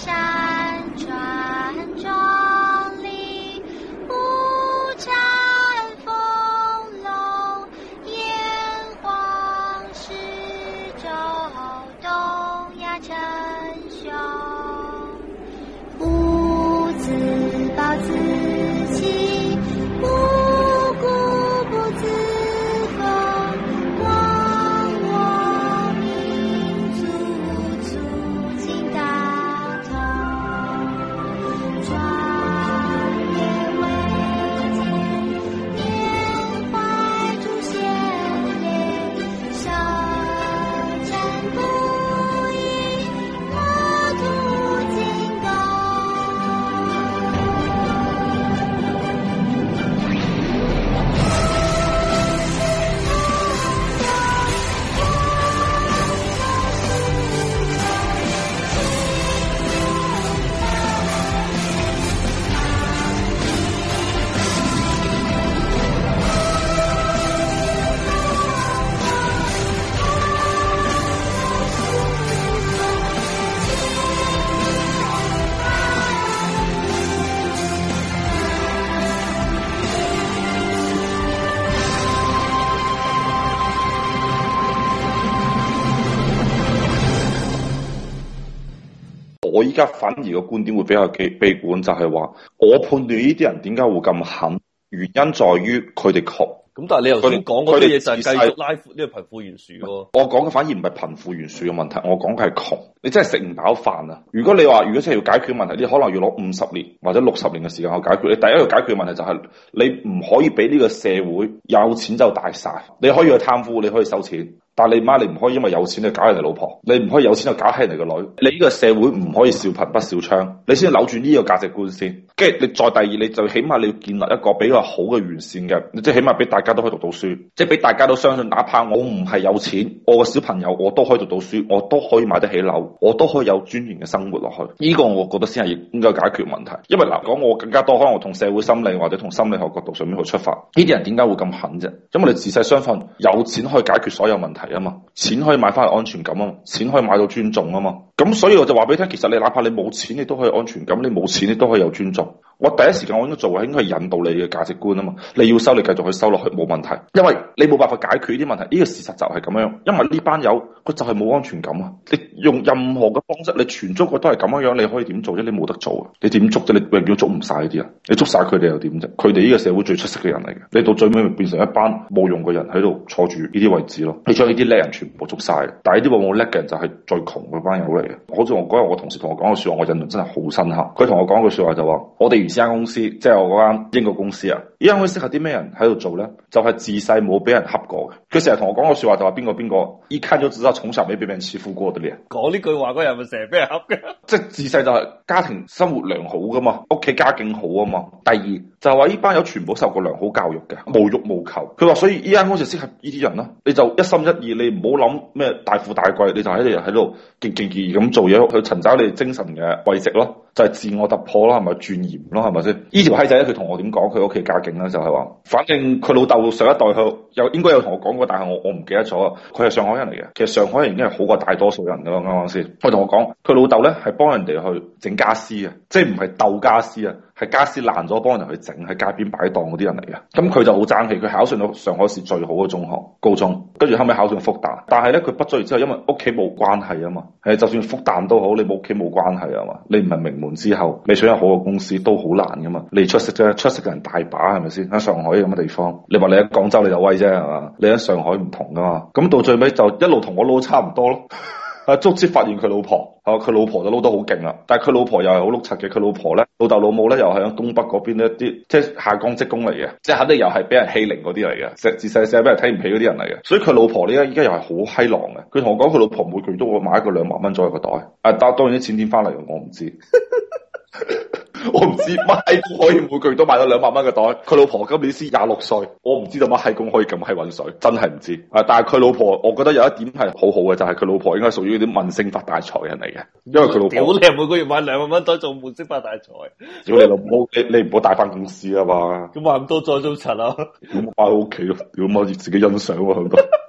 我依家反而個觀點會比較悲觀，就係話我判斷呢啲人點解會咁狠，原因在於佢哋窮。 咁但係你頭先講嗰啲嘢就係繼續拉闊呢個貧富懸殊喎。 我講嘅反而唔係貧富懸殊嘅問題，我講嘅係窮。你真係食唔飽飯啊！如果你話如果真係要解決問題，你可能要攞50年或者60年嘅時間去解決。你第一個解決問題就係你唔可以俾呢個社會有錢就大晒。你可以去貪污，你可以收錢。但係你媽，你唔可以因為有錢就搞人哋老婆，你唔可以有錢就搞起人哋個女。你呢個社會唔可以少貧不少娼，你先扭轉呢個價值觀先。跟住你再第二，你就起碼你要建立一個比較好嘅完善嘅，即係起碼俾大家都可以讀到書，即係俾大家都相信，哪怕我唔係有錢，我個小朋友我都可以讀到書，我都可以買得起樓，我都可以有尊嚴嘅生活落去。呢個我覺得先係應該解決問題。因為嗱，講我更加多，可能我從社會心理或者從心理學角度上面去出發，呢啲人點解會咁狠啫？因為你自細相信有錢可以解決所有問題啊嘛，錢可以買翻嚟安全感啊嘛，錢可以買到尊重啊嘛。咁所以我就話俾你聽，其實你哪怕你冇錢，你都可以安全感；你冇錢，你都可以有尊重。我第一時間我應該做嘅應該係引導你嘅價值觀啊嘛。你要收，你繼續去收落去冇問題，因為你冇辦法解決呢啲問題。呢個事實就係咁樣，因為呢班友佢就係冇安全感啊。你用任何嘅方式，你全中國都係咁樣，你可以點做啫？你冇得做啊！你點捉啫？你永遠捉唔晒呢啲人，你捉晒佢哋又點啫？佢哋呢個社會最出色嘅人嚟嘅，你到最尾咪變成一班冇用嘅人喺度坐住呢啲位置咯。你將呢啲叻人全部捉晒，但係呢啲往往叻嘅人就係最窮嗰班友嚟嘅。好似我嗰日我同事同我講嘅說話，我印象真係好深刻。佢同我講句說話就話：我哋原先間公司，即係我嗰間英國公司啊，呢間公司適合啲咩人喺度做咧？就係自細冇俾人恰過嘅。佢成日同我講個說話就話邊個，一看就知道從小未俾人欺負過嘅咧。 講呢句話嗰人咪成日俾人恰嘅， 即係自細就係家庭生活良好噶嘛，屋企家境好啊嘛。第二就係話呢班友全部受過良好教育嘅，無欲無求。佢話所以呢間公司適合呢啲人咯。你就一心一意，你唔好諗咩大富大貴，你就喺度勁勁意咁做嘢去尋找你精神嘅慰藉咯。就係自我突破咯，係咪鑽研咯，係咪先？呢條閪仔咧，佢同我點講？佢屋企家境咧就係話，反正佢老豆上一代佢又應該有同我講過，但係我唔記得咗。佢係上海人嚟嘅，其實上海人已經係好過大多數人噶啦，啱啱先？佢同我講，佢老豆咧係幫人哋去整家私嘅，即係唔係鬥家私啊，係家私爛咗幫人去整，喺街邊擺檔嗰啲人嚟嘅。咁佢就好爭氣，佢考上到上海市最好嘅中學高中，跟住後尾考上復旦。但係咧佢畢咗業之後，因為屋企冇關係啊嘛，就算復旦都好，你冇屋企冇關係啊嘛，你唔係名門之後，你想有好嘅公司都好難噶嘛。你出色啫，出色嘅人大把係咪先？喺上海咁嘅地方，你話你喺廣州你就威啫係嘛？你喺上海唔同噶嘛。咁到最尾就一路同我撈差唔多咯。足之發現佢老婆，佢老婆就撈得好勁啦。但係佢老婆又係好碌柒嘅，佢老婆咧老豆老母咧又係喺東北嗰邊一啲即係下崗職工嚟嘅，即係肯定又係俾人欺凌嗰啲嚟嘅，自細細俾人睇唔起嗰啲人嚟嘅。所以佢老婆呢依家又係好閪狼嘅。佢同我講佢老婆每個月都會買一個2萬蚊左右嘅袋。當然啲錢點翻嚟嘅我唔知。我唔知乜閪公可以每個月都買到2萬蚊嘅袋。佢老婆今年先26歲，我唔知道乜閪公可以咁閪搵水，真係唔知。但係佢老婆，我覺得有一點係好好嘅，就係佢老婆應該屬於啲悶聲發大財人嚟嘅，因為佢老婆屌你每個月買2萬蚊袋做悶聲發大財， 屌你老母，你唔好帶翻公司啊嘛。 咁買咁多再做柒啊？ 屌買喺屋企咯，屌媽自己欣賞啊佢都。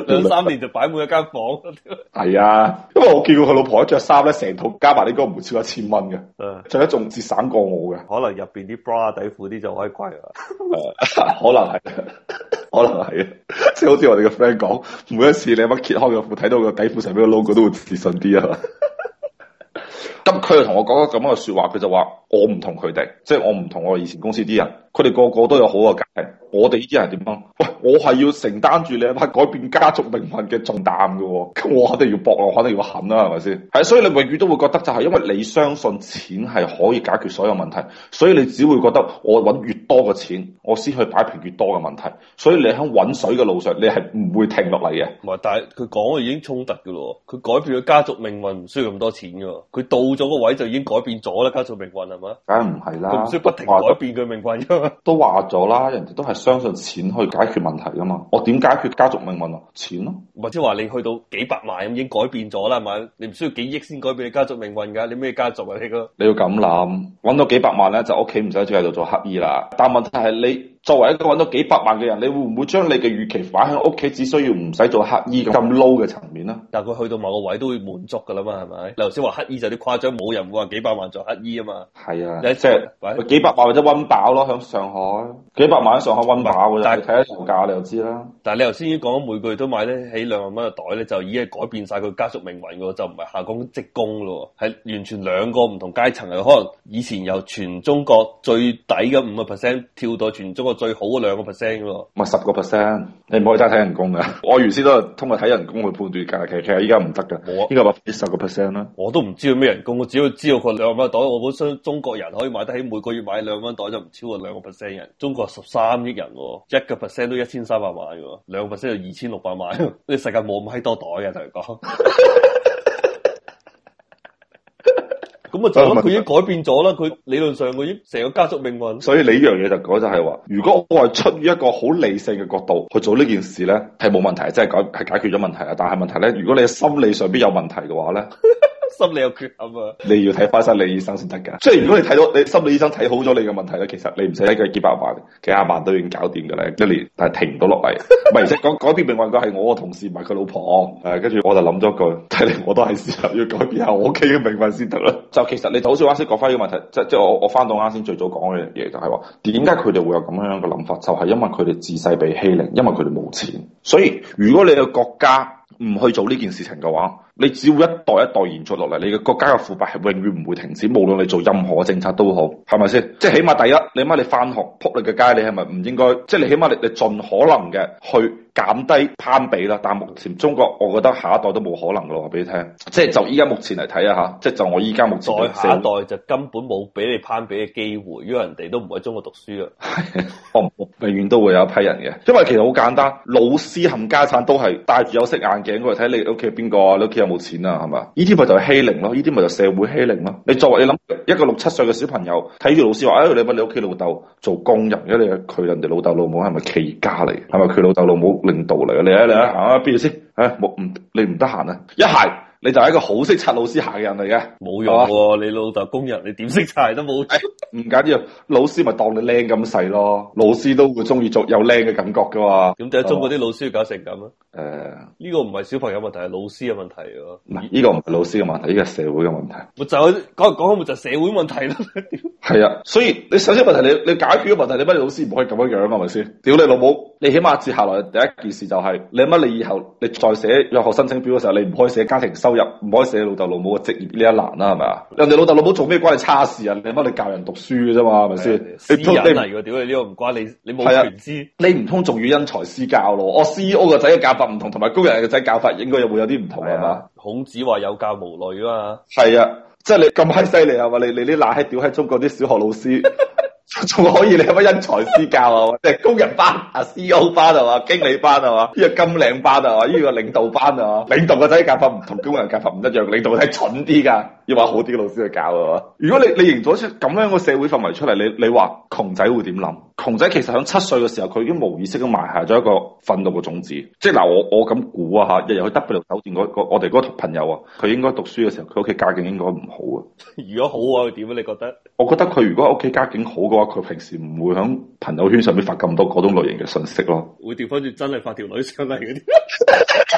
2-3年就擺滿一間房。 係啊，因為我見過佢老婆一着衫咧，成套加埋應該唔會超過1000蚊嘅，着得仲節省過我嘅。 可能入邊啲 bra 底褲啲就可以貴啦。 可能係，可能係啊，即係好似我哋嘅 friend 講，每一次你乜揭開個褲睇到個底褲上邊個 logo 都會自信啲啊。咁佢就同我講咗咁樣嘅說話，佢就話我唔同佢哋，即係我唔同我以前公司啲人，佢哋個個都有好嘅家庭，我哋呢啲人點樣？喂，我係要承擔住你一班改變家族命運嘅重擔嘅，咁我肯定要搏，我肯定要狠啦，係咪先？係，所以你永遠都會覺得就係因為你相信錢係可以解決所有問題，所以你只會覺得我揾越多嘅錢，我先去擺平越多嘅問題，所以你喺揾水嘅路上，你係唔會停落嚟嘅。 唔係，但係佢講嘅已經衝突嘅咯，佢改變咗家族命運唔需要咁多錢嘅，佢到咗個位就已經改變咗啦，家族命運係嘛？ 梗係唔係啦， 佢唔需要不停改變佢命運噶嘛？ 都話咗啦，人哋都係相信錢去解決問題噶嘛。我點解決家族命運啊？錢咯， 或者話你去到幾百萬咁已經改變咗啦，係咪？你唔需要幾億先改變你家族命運噶？你咩家族啊？ 你要咁諗，揾到幾百萬咧，就屋企唔使再喺度做乞衣啦。但問題係你作為一個揾到幾百萬嘅人，你會唔會將你嘅預期擺喺屋企，只需要唔使做乞衣咁 low 嘅層面咧？ 但係佢去到某個位都會滿足噶啦嘛，係咪？你頭先話乞衣就有啲誇張，冇人會話幾百萬做乞衣啊嘛。 係啊， 即係幾百萬或者溫飽咯，響上海幾百萬喺上海溫飽，但係睇下樓價你就知啦。 但係你頭先已經講每個月都買得起2萬蚊嘅袋咧，就已經係改變晒佢家族命運噶，就唔係下崗職工咯，係完全兩個唔同階層嘅。可能以前由全中國最底嘅5% 跳到全中國最好嘅2%咯， 咪10%，你唔可以齋睇人工噶。我原先都係通過睇人工去判斷價，其實依家唔得噶，應該10%啦。 我都唔知道咩人工，我只要知道佢2萬蚊袋，我本身中國人可以買得起每個月買2萬蚊袋就唔超過2%人。中國13億人，1% 都1300萬嘅，2%就2600萬。呢個世界冇咁閪多袋嘅，同你講。咁啊，就佢已經改變咗啦。佢理論上佢已經成個家族命運。 所以你呢樣嘢就講就係話，如果我係出於一個好理性嘅角度去做呢件事咧，係冇問題，即係解決咗問題啊。但係問題咧，如果你心理上邊有問題嘅話咧。 心理有缺陷啊！ 你要睇翻心理醫生先得噶。即係如果你睇到你心理醫生睇好咗你嘅問題咧，其實你唔使一個幾百萬、幾廿萬都已經搞掂噶啦，一年但係停唔到落嚟。唔係，而且講改變命運嘅係我個同事，唔係佢老婆。跟住我就諗咗句，睇嚟我都係時候要改變下我屋企嘅命運先得啦。就其實你就好似啱先講翻呢個問題，即係我翻到啱先最早講嘅嘢，就係話點解佢哋會有咁樣嘅諗法，就係因為佢哋自細被欺凌，因為佢哋冇錢。所以如果你嘅國家唔去做呢件事情嘅話，你只會一代一代延續落嚟，你嘅國家嘅腐敗係永遠唔會停止，無論你做任何政策都好，係咪先？即係起碼第一，你起碼你翻學撲你嘅街，你係咪唔應該？即係你起碼你盡可能嘅去減低攀比啦。但係目前中國，我覺得下一代都冇可能咯，話俾你聽。即係就依家目前嚟睇啊嚇，即係就我依家目前再下一代就根本冇俾你攀比嘅機會，因為人哋都唔喺中國讀書啊。 我永遠都會有一批人嘅，因為其實好簡單，老師冚家產都係戴住有色眼鏡過嚟睇你屋企係邊個啊，你屋企有冇錢啊，係嘛？呢啲咪就係欺凌咯，呢啲咪就社會欺凌咯。你作為你諗一個6、7歲嘅小朋友睇住老師話，你問你屋企老豆做工人嘅，你佢人哋老豆老母係咪企業家嚟？係咪佢老豆老母領導嚟？你行啊邊度先？你唔得閒啊？一係你就係一個好識擦老師鞋嘅人嚟嘅， 冇用喎！吧你老豆工人，你點識擦都冇。 唔緊要，老師咪當你靚咁細咯。老師都會中意做有靚嘅感覺噶嘛。 咁點解中國啲老師要搞成咁啊？呢個唔係小朋友問題，係老師嘅問題喎。 唔係呢個唔係老師嘅問題，呢個係社會嘅問題。 咪就係講咪就係社會問題咯。 係啊，所以你首先問題你解決咗問題，你乜老師唔可以咁樣樣係咪先？屌你老母！你起碼接下來第一件事就係你乜你以後你再寫入學申請表嘅時候，你唔可以寫家庭收入，唔可以寫老豆老母嘅職業呢一欄啦，係咪啊？人哋老豆老母做咩關你差事啊？你乜你教人讀書嘅啫嘛，係咪先？ 私隱嚟㗎，屌你呢個唔關你，你冇權知。 你唔通仲要因材施教咯？我 CEO 個仔嘅教法唔同，同埋高人嘅仔教法應該會有啲唔同係嘛？ 孔子話有教無類啊嘛。 係啊，即係你咁閪犀利係嘛？你啲乸閪屌喺中國啲小學老師。仲可以你有乜因材施教啊？即係工人班啊、CEO 班係嘛、經理班係嘛、呢個金領班係嘛、呢個領導班係嘛？領導個仔教法唔同工人教法唔一樣，領導個仔蠢啲㗎，要話好啲嘅老師去教係嘛？如果你營造出咁樣嘅社會氛圍出嚟，你話窮仔會點諗？窮仔其實喺7歲嘅時候，佢已經無意識咁埋下咗一個憤怒嘅種子。即係嗱，我咁估啊嚇，日日去 W 酒店我哋嗰個朋友啊，佢應該讀書嘅時候，佢屋企家境應該唔好啊。 如果好啊，佢點啊？你覺得？我覺得佢如果喺屋企家境好嘅話，佢平時唔會喺朋友圈上面發咁多嗰種類型嘅信息咯。 會調翻轉真係發條女上嚟嗰啲。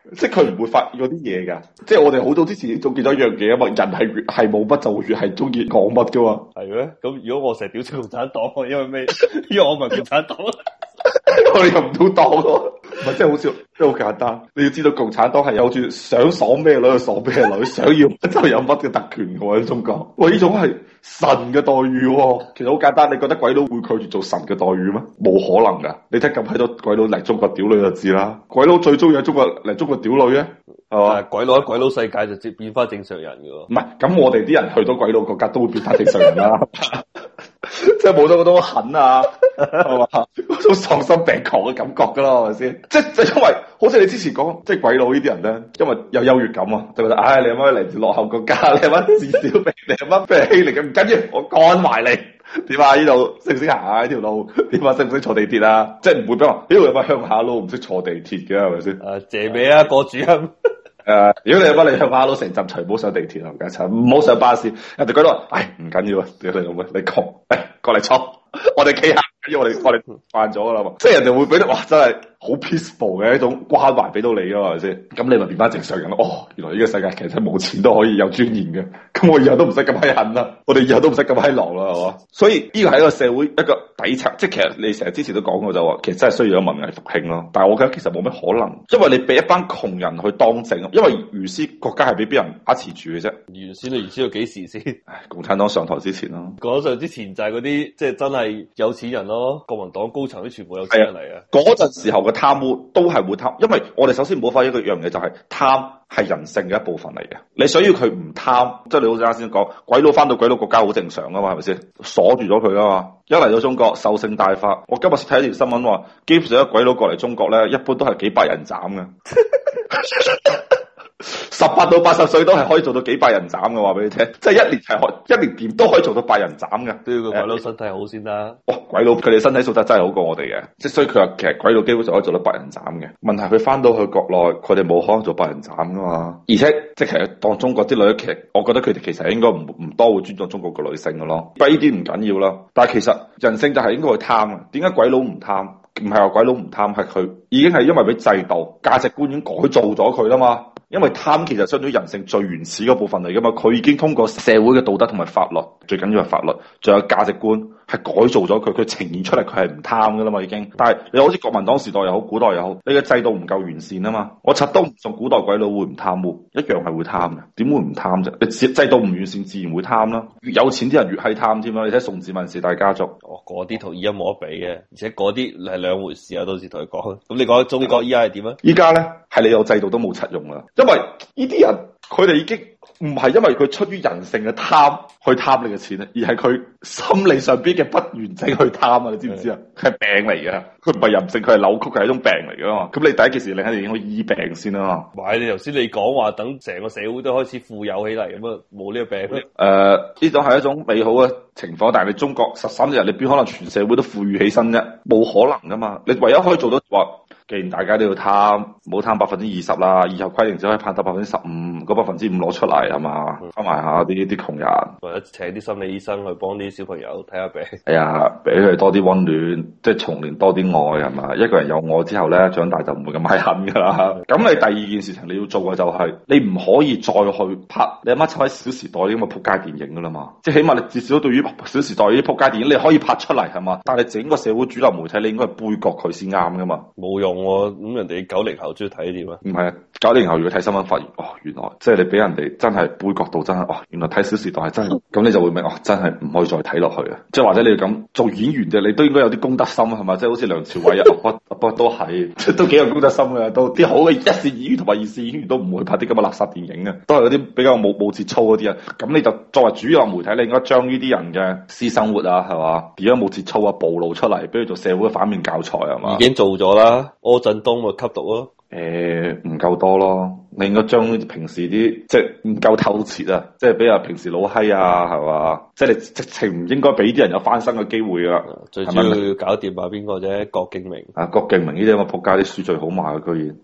即係佢唔會發現嗰啲嘢㗎。即係我哋好早之前已經總結咗一樣嘢啊嘛，人係越係冇乜就越係中意講乜㗎嘛。 係咩？咁如果我成日屌出共產黨，因為咩？因為我唔係共產黨。 我哋入唔到黨咯，唔係真係好笑，即係好簡單。你要知道共產黨係有住想爽咩女就爽咩女，想要乜就有乜嘅特權嘅喎喺中國。喂，呢種係神嘅待遇喎。其實好簡單，你覺得鬼佬會拒絕做神嘅待遇咩？冇可能㗎。你睇咁閪多鬼佬嚟中國屌女就知啦。鬼佬最中意喺中國嚟中國屌女嘅，係嘛？ 鬼佬喺鬼佬世界就接變翻正常人㗎喎。 唔係，咁我哋啲人去到鬼佬國家都會變翻正常人啦。即係冇咗嗰種狠啊，係嘛？嗰種喪心病狂嘅感覺噶啦，係咪先？即係因為，好似你之前講，即係鬼佬呢啲人咧，因為有優越感啊，就覺得，唉，你阿媽嚟自落後國家，你阿媽至少俾你阿媽俾人欺凌嘅，唔緊要，我幹埋你。點啊？呢度識唔識行啊？呢條路點啊？識唔識坐地鐵啊？即係唔會俾我，呢度有乜鄉下佬唔識坐地鐵嘅，係咪先？ 謝美啊，個主任。 如果你阿媽你鄉下佬成陣除，唔好上地鐵啊，唔該，唔好上巴士。人哋講到話，唉，唔緊要啊，屌你老母，你窮，過嚟坐，我哋企下。因為我哋慣咗噶啦嘛，即係人哋會俾到，哇，真係好 peaceful 嘅一種關懷俾到你啊嘛，係咪先？咁你咪變翻正常人咯。哦，原來呢個世界其實冇錢都可以有尊嚴嘅，咁我以後都唔使咁閪狠啦，我哋以後都唔使咁閪狼啦，係嘛？所以呢個係一個社會一個底層，即係其實你成日之前都講過就話，其實真係需要有文藝復興咯。但係我覺得其實冇咩可能，因為你俾一班窮人去當政，因為原先國家係俾邊人把持住嘅啫。 原先到幾時先？ 共產黨上台之前咯。 講上之前就係嗰啲即係真係有錢人咯，國民黨高層都全部有錢人嚟嘅。 嗰陣時候嘅貪污都係會貪，因為我哋首先唔好發現一個樣嘢，就係貪係人性嘅一部分嚟嘅。你想要佢唔貪，即係你好似啱先講，鬼佬翻到鬼佬國家好正常啊嘛，係咪先？鎖住咗佢啊嘛，一嚟到中國獸性大發。我今日睇一條新聞話，基本上一鬼佬過嚟中國咧，一般都係幾百人斬嘅。18到80歲都係可以做到幾百人斬嘅，話俾你聽，即係一年掂都可以做到百人斬嘅， 都要個鬼佬身體好先啦。 鬼佬佢哋身體素質真係好過我哋嘅，即係所以佢話其實鬼佬基本上可以做到百人斬嘅。問題佢翻到去國內，佢哋冇可能做百人斬噶嘛。而且即係其實當中國啲女，其實我覺得佢哋其實應該唔多會尊重中國嘅女性嘅咯。不過呢啲唔緊要啦，但係其實人性就係應該去貪啊。點解鬼佬唔貪？唔係話鬼佬唔貪，係佢已經係因為俾制度價值觀已經改造咗佢啦嘛。因為貪其實相當於人性最原始嗰部分嚟噶嘛，佢已經通過社會嘅道德同埋法律，最緊要係法律，仲有價值觀係改造咗佢，佢呈現出嚟佢係唔貪噶啦嘛已經。但係你好似國民黨時代又好，古代又好，你嘅制度唔夠完善啊嘛。我柒都唔信古代鬼佬會唔貪污，一樣係會貪嘅，點會唔貪啫？你制度唔完善，自然會貪啦。越有錢啲人越係貪添啦。你睇宋子文時代家族， 嗰啲同依家冇得比嘅，而且嗰啲係兩回事啊。到時同佢講，咁你講中國依家係點啊？ 依家咧係你有制度都冇柒用啦，因為呢啲人佢哋已經唔係因為佢出於人性嘅貪去貪你嘅錢咧，而係佢心理上邊嘅不完整去貪啊！你知唔知啊？係病嚟嘅，佢唔係人性，佢係扭曲，係一種病嚟噶嘛。咁你第一件事你肯定應該醫病先啦嘛。 唔係你頭先你講話等成個社會都開始富有起嚟咁啊，冇呢個病咧。 呢種係一種美好嘅情況，但係你中國13日你邊可能全社會都富裕起身啫？冇可能噶嘛！你唯一可以做到話，既然大家都要貪，唔好貪20%啦，以後規定只可以貪得15%，嗰5%攞出嚟係嘛，翻埋下啲窮人， 或者請啲心理醫生去幫啲小朋友睇下病。 係啊，俾佢多啲溫暖，即係重燃多啲愛係嘛。一個人有愛之後咧，長大就唔會咁閪狠噶啦。咁你第二件事情你要做嘅就係，你唔可以再去拍你阿媽抽喺《小時代》啲咁嘅撲街電影噶啦嘛。即係起碼你至少對於《小時代》呢啲撲街電影，你可以拍出嚟係嘛。但係整個社會主流媒體，你應該係杯葛佢先啱噶嘛。 冇用喎，咁人哋90後中意睇點啊？ 唔係啊，90後如果睇新聞發現，哦，原來即係你俾人哋真係杯葛到真係，哦，原來睇《小時代》係真係，咁你就會明，哦，真係唔可以再睇落去啊！即係或者你咁做演員嘅，你都應該有啲公德心係嘛？即係好似梁朝偉啊，不過都係，都幾有公德心嘅，都啲好嘅一線演員同埋二線演員都唔會拍啲咁嘅垃圾電影嘅，都係嗰啲比較冇節操嗰啲啊。咁你就作為主流媒體，你應該將呢啲人嘅私生活啊，係嘛？點樣冇節操啊，暴露出嚟，俾佢做社會嘅反面教材係嘛？ 已經做咗啦，柯震東咪吸毒咯。 唔夠多咯，你應該將平時啲即係唔夠透徹啊，即係比如平時老閪啊，係嘛？即係你直情唔應該俾啲人有翻身嘅機會啊！ 最主要要搞掂下邊個啫？郭敬明啊，郭敬明呢啲咁嘅仆街啲書最好賣啊，居然。